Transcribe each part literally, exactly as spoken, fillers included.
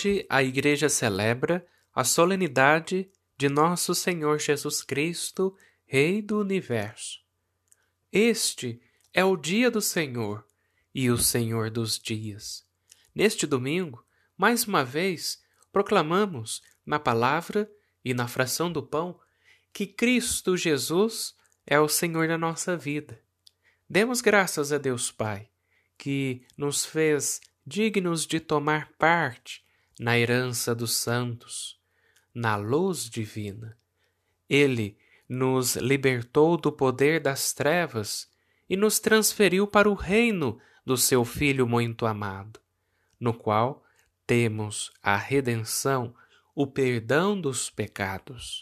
Hoje a Igreja celebra a solenidade de Nosso Senhor Jesus Cristo, Rei do Universo. Este é o dia do Senhor e o Senhor dos dias. Neste domingo, mais uma vez, proclamamos na palavra e na fração do pão que Cristo Jesus é o Senhor da nossa vida. Demos graças a Deus Pai, que nos fez dignos de tomar parte na herança dos santos, na luz divina. Ele nos libertou do poder das trevas e nos transferiu para o reino do seu Filho muito amado, no qual temos a redenção, o perdão dos pecados.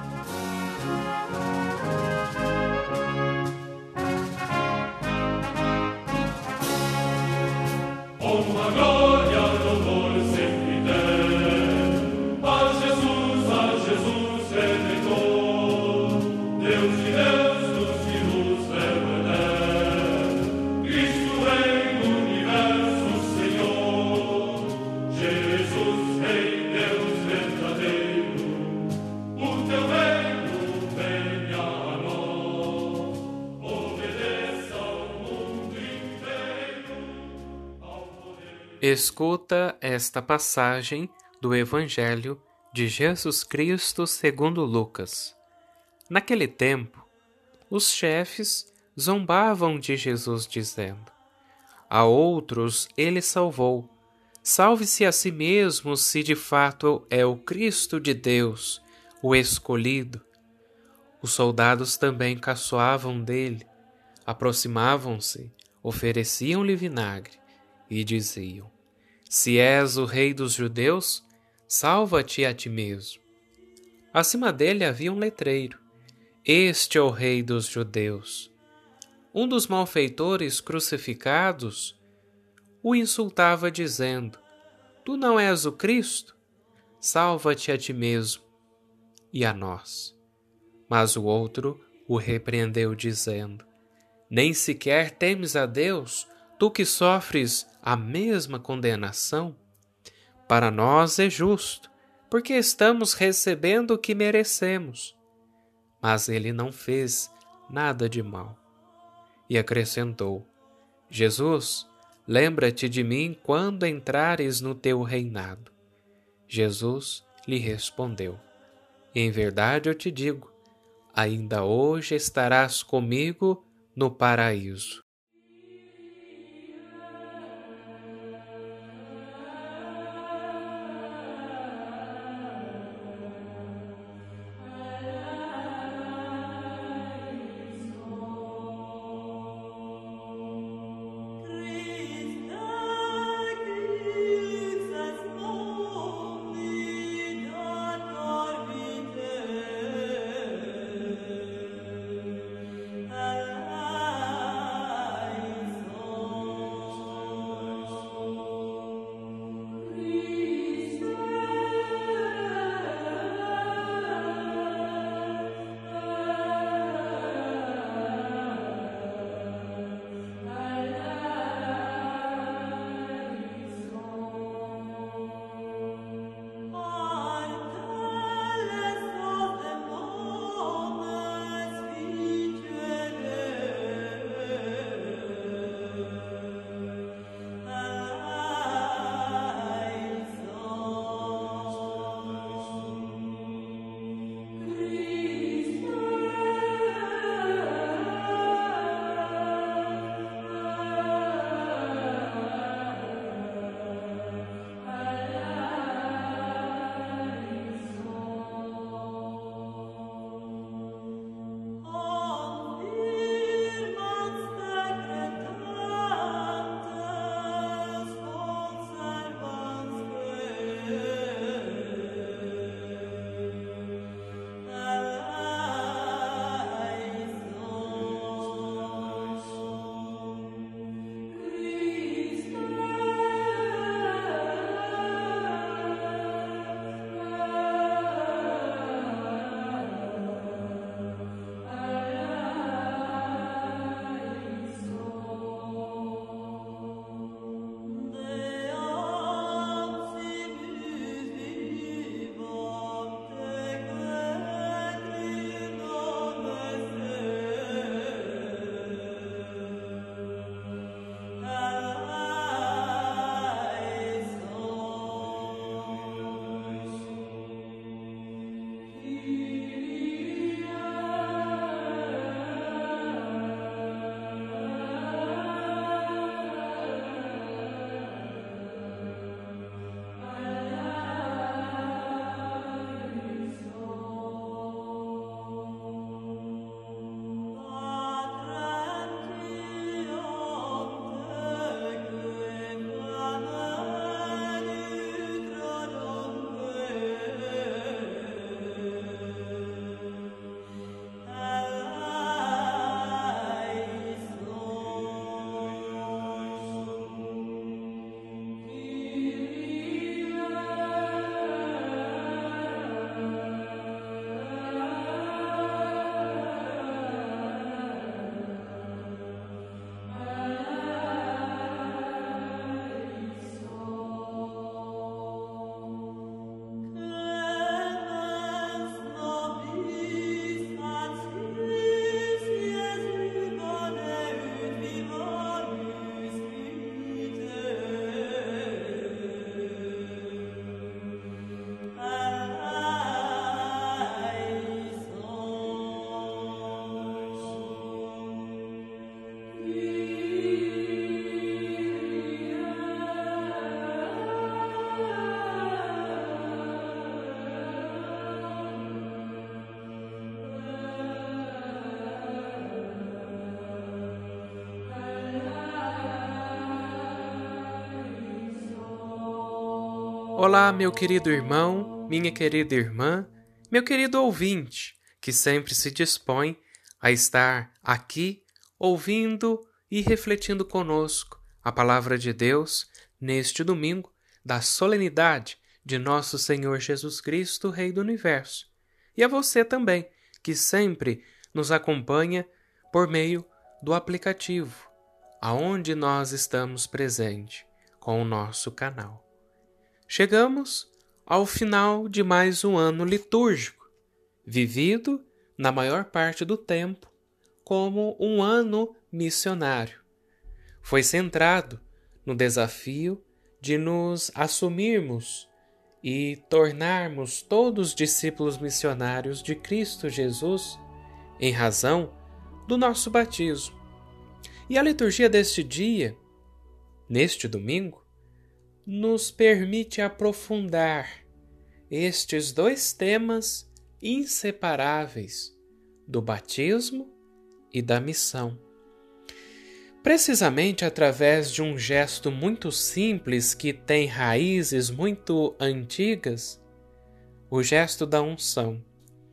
Honra, glória, louvor sempre tem a Jesus, a Jesus Redentor, Deus de Deus, luz de luz, verbo eterno, Cristo Rei do Universo, Senhor, Jesus Rei, Deus verdadeiro, o teu reino venha a nós, obedeça ao mundo inteiro. Escuta esta passagem do Evangelho de Jesus Cristo segundo Lucas. Naquele tempo, os chefes zombavam de Jesus, dizendo: a outros ele salvou. Salve-se a si mesmo, se de fato é o Cristo de Deus, o escolhido. Os soldados também caçoavam dele, aproximavam-se, ofereciam-lhe vinagre e diziam: se és o rei dos judeus, salva-te a ti mesmo. Acima dele havia um letreiro: este é o rei dos judeus. Um dos malfeitores crucificados o insultava dizendo: tu não és o Cristo? Salva-te a ti mesmo e a nós. Mas o outro o repreendeu dizendo: nem sequer temes a Deus, tu que sofres a mesma condenação? Para nós é justo, porque estamos recebendo o que merecemos. Mas ele não fez nada de mal. E acrescentou: Jesus, lembra-te de mim quando entrares no teu reinado. Jesus lhe respondeu: em verdade eu te digo, ainda hoje estarás comigo no paraíso. Olá, meu querido irmão, minha querida irmã, meu querido ouvinte, que sempre se dispõe a estar aqui ouvindo e refletindo conosco a palavra de Deus neste domingo da solenidade de nosso Senhor Jesus Cristo, Rei do Universo. E a você também, que sempre nos acompanha por meio do aplicativo, aonde nós estamos presentes com o nosso canal. Chegamos ao final de mais um ano litúrgico, vivido, na maior parte do tempo, como um ano missionário. Foi centrado no desafio de nos assumirmos e tornarmos todos discípulos missionários de Cristo Jesus, em razão do nosso batismo. E a liturgia deste dia, neste domingo, nos permite aprofundar estes dois temas inseparáveis do batismo e da missão. Precisamente através de um gesto muito simples que tem raízes muito antigas, o gesto da unção.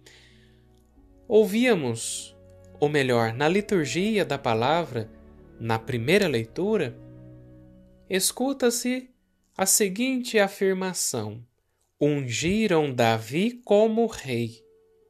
Ouvíamos, ou melhor, na liturgia da palavra, na primeira leitura, escuta-se a seguinte afirmação: ungiram Davi como rei.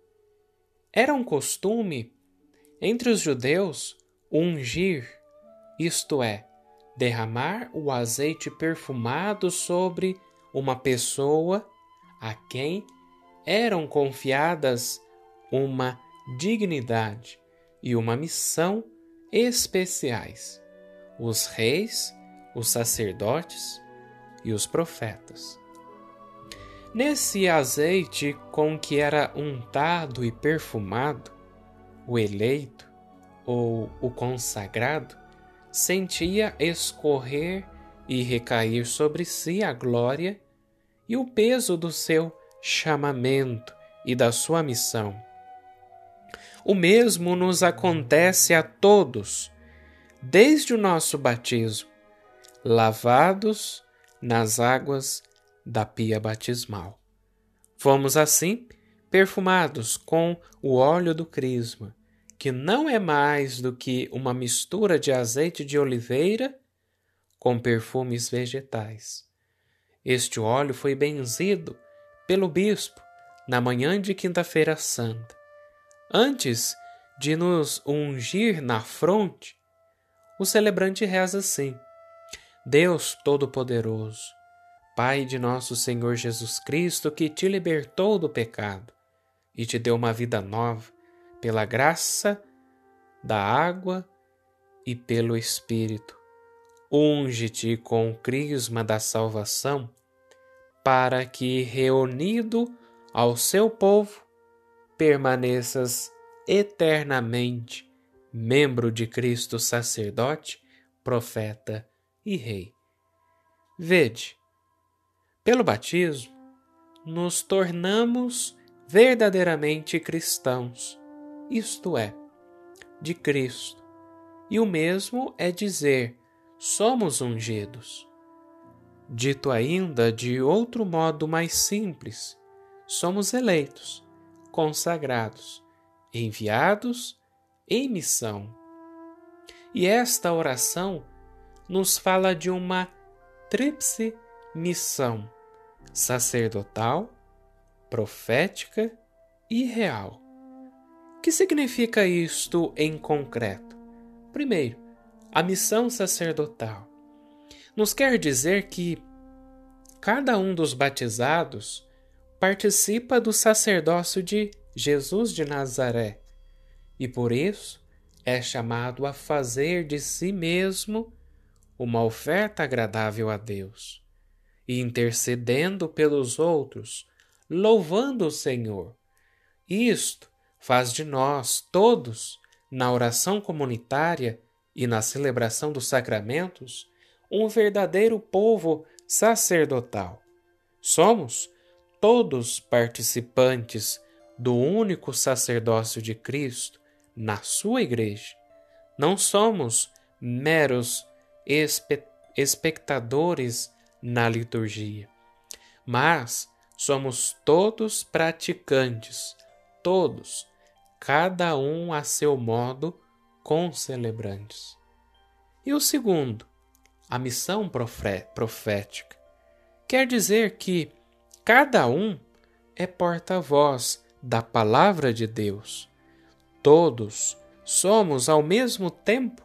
Era um costume entre os judeus ungir, isto é, derramar o azeite perfumado sobre uma pessoa a quem eram confiadas uma dignidade e uma missão especiais: os reis, os sacerdotes e os profetas. Nesse azeite com que era untado e perfumado, o eleito ou o consagrado sentia escorrer e recair sobre si a glória e o peso do seu chamamento e da sua missão. O mesmo nos acontece a todos, desde o nosso batismo, lavados nas águas da pia batismal. Fomos assim perfumados com o óleo do crisma, que não é mais do que uma mistura de azeite de oliveira com perfumes vegetais. Este óleo foi benzido pelo bispo na manhã de Quinta-feira Santa. Antes de nos ungir na fronte, o celebrante reza assim: Deus Todo-Poderoso, Pai de nosso Senhor Jesus Cristo, que te libertou do pecado e te deu uma vida nova pela graça da água e pelo Espírito, unge-te com o crisma da salvação, para que, reunido ao seu povo, permaneças eternamente membro de Cristo, sacerdote, profeta e rei. Vede, pelo batismo, nos tornamos verdadeiramente cristãos, isto é, de Cristo. E o mesmo é dizer, somos ungidos. Dito ainda de outro modo mais simples, somos eleitos, consagrados, enviados em missão. E esta oração nos fala de uma tríplice missão: sacerdotal, profética e real. O que significa isto em concreto? Primeiro, a missão sacerdotal nos quer dizer que cada um dos batizados participa do sacerdócio de Jesus de Nazaré e por isso é chamado a fazer de si mesmo uma oferta agradável a Deus, e intercedendo pelos outros, louvando o Senhor. Isto faz de nós todos, na oração comunitária e na celebração dos sacramentos, um verdadeiro povo sacerdotal. Somos todos participantes do único sacerdócio de Cristo na sua igreja. Não somos meros espe- espectadores na liturgia, mas somos todos praticantes, todos, cada um a seu modo, concelebrantes. E o segundo, a missão profética, quer dizer que cada um é porta-voz da palavra de Deus. Todos somos, ao mesmo tempo,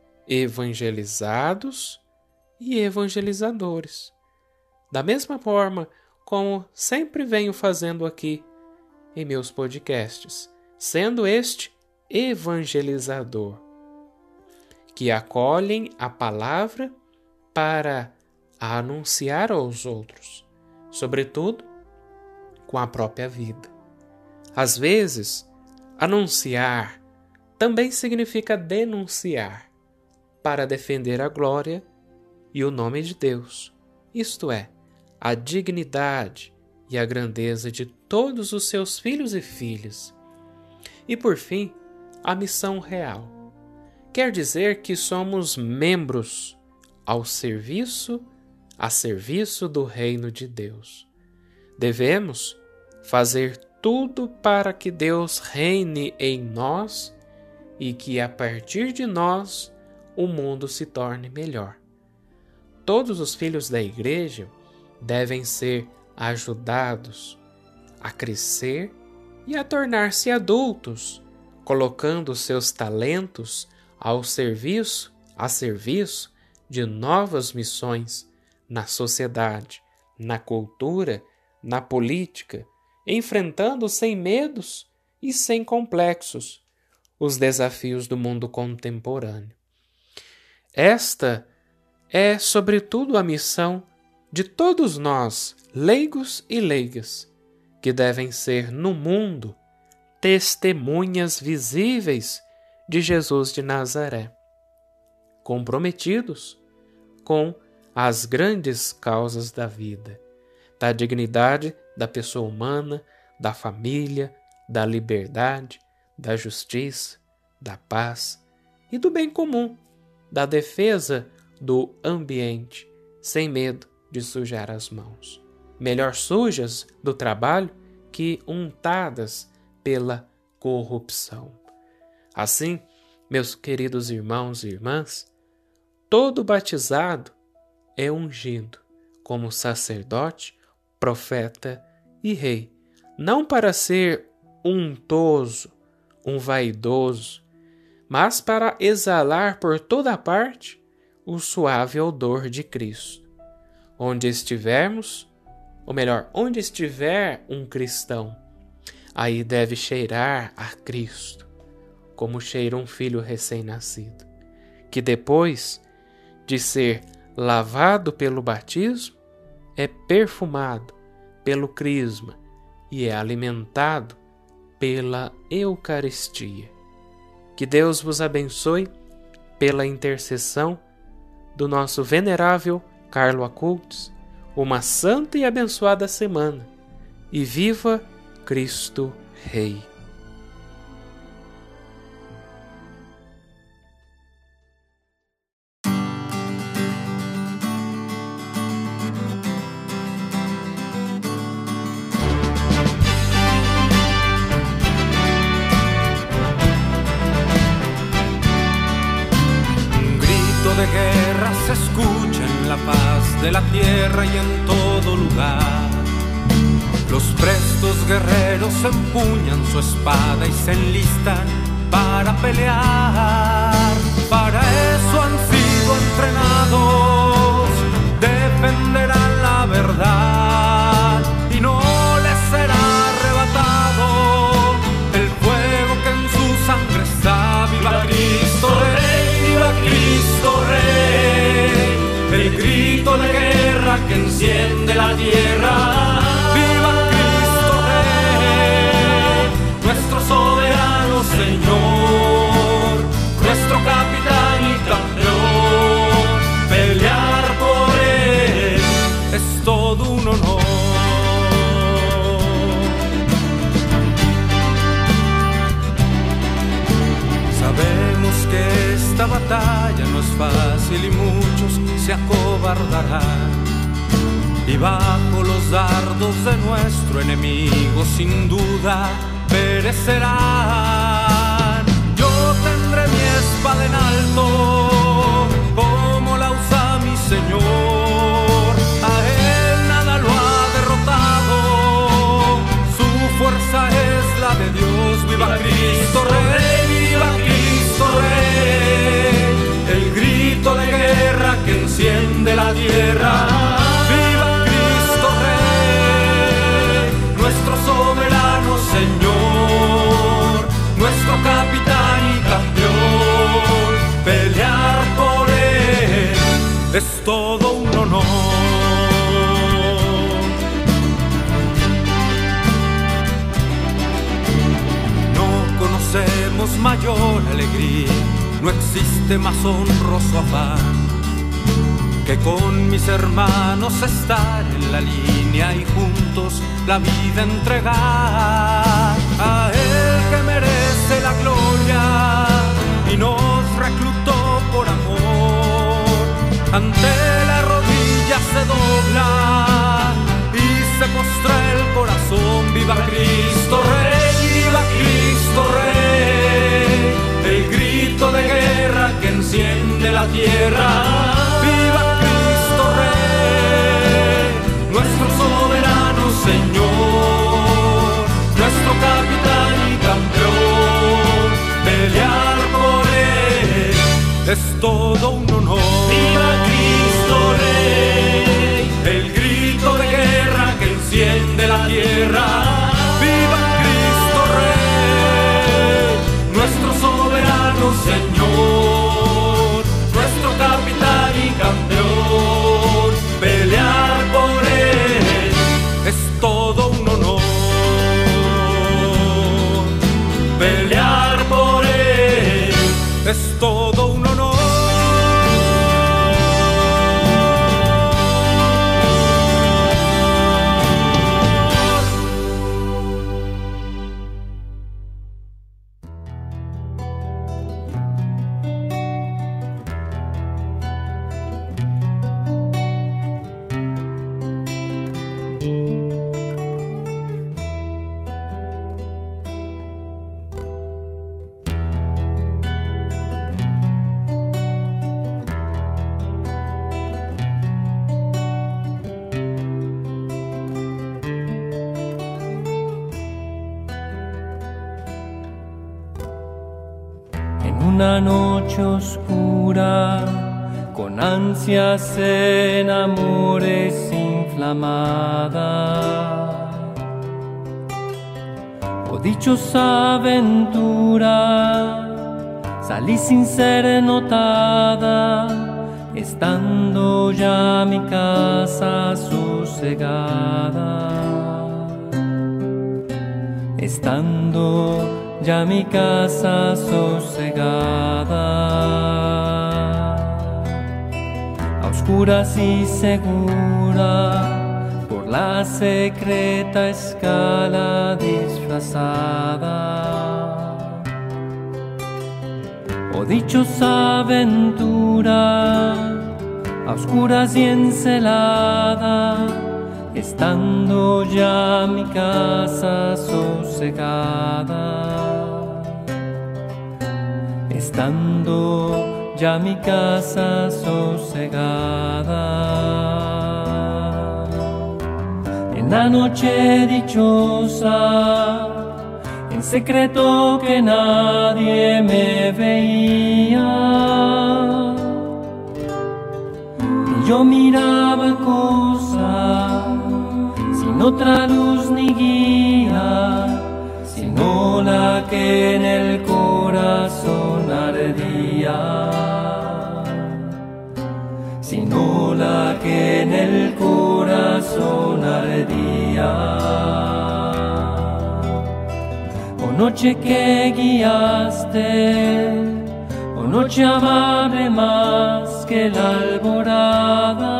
evangelizados e evangelizadores. Da mesma forma como sempre venho fazendo aqui em meus podcasts, sendo este evangelizador, que acolhem a palavra para a anunciar aos outros, sobretudo com a própria vida. Às vezes, anunciar também significa denunciar, para defender a glória e o nome de Deus, isto é, a dignidade e a grandeza de todos os seus filhos e filhas. E por fim, a missão real. Quer dizer que somos membros ao serviço, a serviço do reino de Deus. Devemos fazer tudo para que Deus reine em nós e que a partir de nós o mundo se torne melhor. Todos os filhos da igreja devem ser ajudados a crescer e a tornar-se adultos, colocando seus talentos ao serviço, a serviço de novas missões na sociedade, na cultura, na política, enfrentando sem medos e sem complexos os desafios do mundo contemporâneo. Esta é, sobretudo, a missão de todos nós, leigos e leigas, que devem ser no mundo testemunhas visíveis de Jesus de Nazaré, comprometidos com as grandes causas da vida, da dignidade da pessoa humana, da família, da liberdade, da justiça, da paz e do bem comum, da defesa do ambiente, sem medo de sujar as mãos. Melhor sujas do trabalho que untadas pela corrupção. Assim, meus queridos irmãos e irmãs, todo batizado é ungido como sacerdote, profeta e rei, não para ser untoso, um vaidoso, mas para exalar por toda parte o suave odor de Cristo. Onde estivermos, ou melhor, onde estiver um cristão, aí deve cheirar a Cristo, como cheira um filho recém-nascido, que depois de ser lavado pelo batismo, é perfumado pelo crisma e é alimentado pela Eucaristia. Que Deus vos abençoe pela intercessão do nosso venerável Carlo Acultos, uma santa e abençoada semana, e viva Cristo Rei. De guerra se escucha en la paz de la tierra y en todo lugar. Los prestos guerreros empuñan su espada y se enlistan para pelear. Para eso han sido entrenados, defenderán la verdad y no les será arrebatado el fuego que en su sangre está. ¡Viva Cristo Rey! ¡Viva Cristo Rey! El grito de guerra que enciende la tierra. ¡Viva Cristo Rey! Nuestro soberano Señor, nuestro capitán y campeón. Pelear por él es todo un honor. Sabemos que esta batalla no es fácil y muchos se acobardarán. y bajo los dardos de nuestro enemigo sin duda perecerán. Yo tendré mi espada en alto, como la usa mi Señor. A él nada lo ha derrotado, su fuerza es la de Dios. Viva Cristo Rey, viva Cristo Rey, el grito de guerra que enciende la tierra. Viva Cristo Rey, nuestro soberano Señor, nuestro capitán y campeón. Pelear por él es todo un honor. No conocemos mayor alegría, no existe más honroso afán que con mis hermanos estar en la línea y juntos la vida entregar. A él que merece la gloria y nos reclutó por amor, ante la rodilla se dobla y se postra el corazón. Viva Cristo Rey, viva Cristo Rey, el grito de guerra que enciende la tierra. Viva Cristo Rey, nuestro soberano Señor, nuestro capitán y campeón. Pelear por él es todo un honor. Viva Cristo Rey, el grito de guerra que enciende la tierra. Viva Cristo Rey, nuestro soberano Señor, nuestro capitán y campeón. Pelear por él es todo un honor. Pelear por él es todo un honor. Una noche oscura, con ansias en amores inflamada, oh dichosa aventura, salí sin ser notada, estando ya mi casa sosegada, estando ya mi casa sosegada, a oscuras y segura, por la secreta escala disfrazada. Oh dichosa aventura, a oscuras y encelada, estando ya mi casa sosegada, estando ya mi casa sosegada. En la noche dichosa, en secreto que nadie me veía, y yo miraba cosa sin otra luz ni guía, sino la que en el corazón ardía, sino la que en el corazón ardía. Oh noche que guiaste, oh noche amable más que la alborada,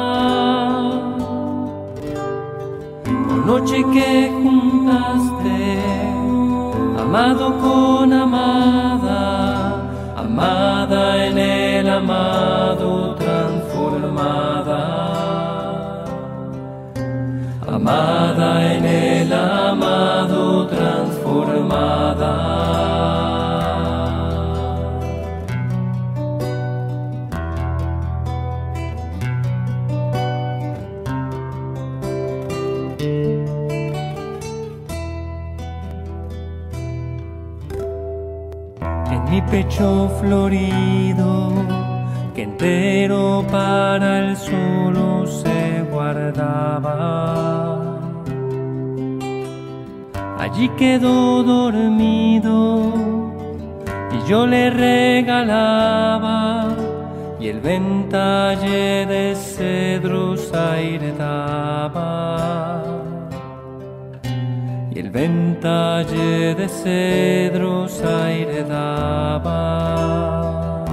oh noche que juntaste amado con amada, amada en el amado transformada, amada en el amado transformada. En mi pecho florido, que entero para el solo se guardaba, allí quedó dormido y yo le regalaba, y el ventalle de cedros aire daba, y el ventalle de cedros aire daba.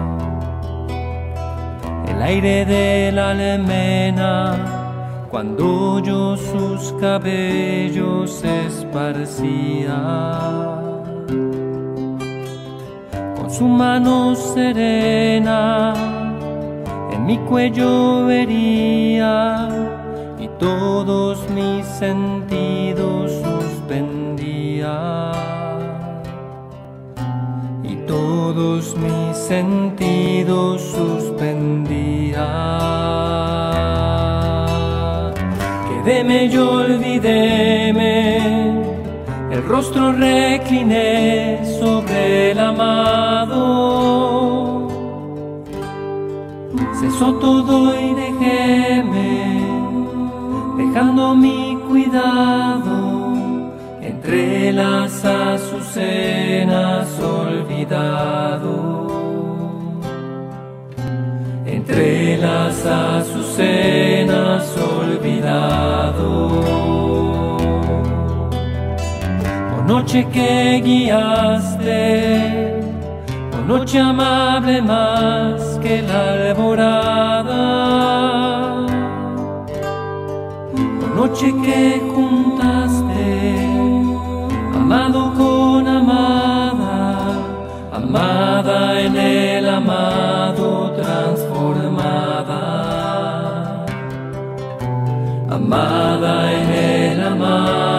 El aire de la almena, cuando yo sus cabellos esparcía, con su mano serena en mi cuello vería, y todos mis sentidos suspendía, y todos mis sentidos suspendía. Quedéme y olvidéme, el rostro recliné sobre el amado, cesó todo y dejéme, dejando mi cuidado entre las azucenas olvidado, entre las azucenas olvidado. Oh noche que guiaste, oh noche amable más que la alborada, oh noche que juntaste amado con amada, amada en el amado transformada, amada en el amado.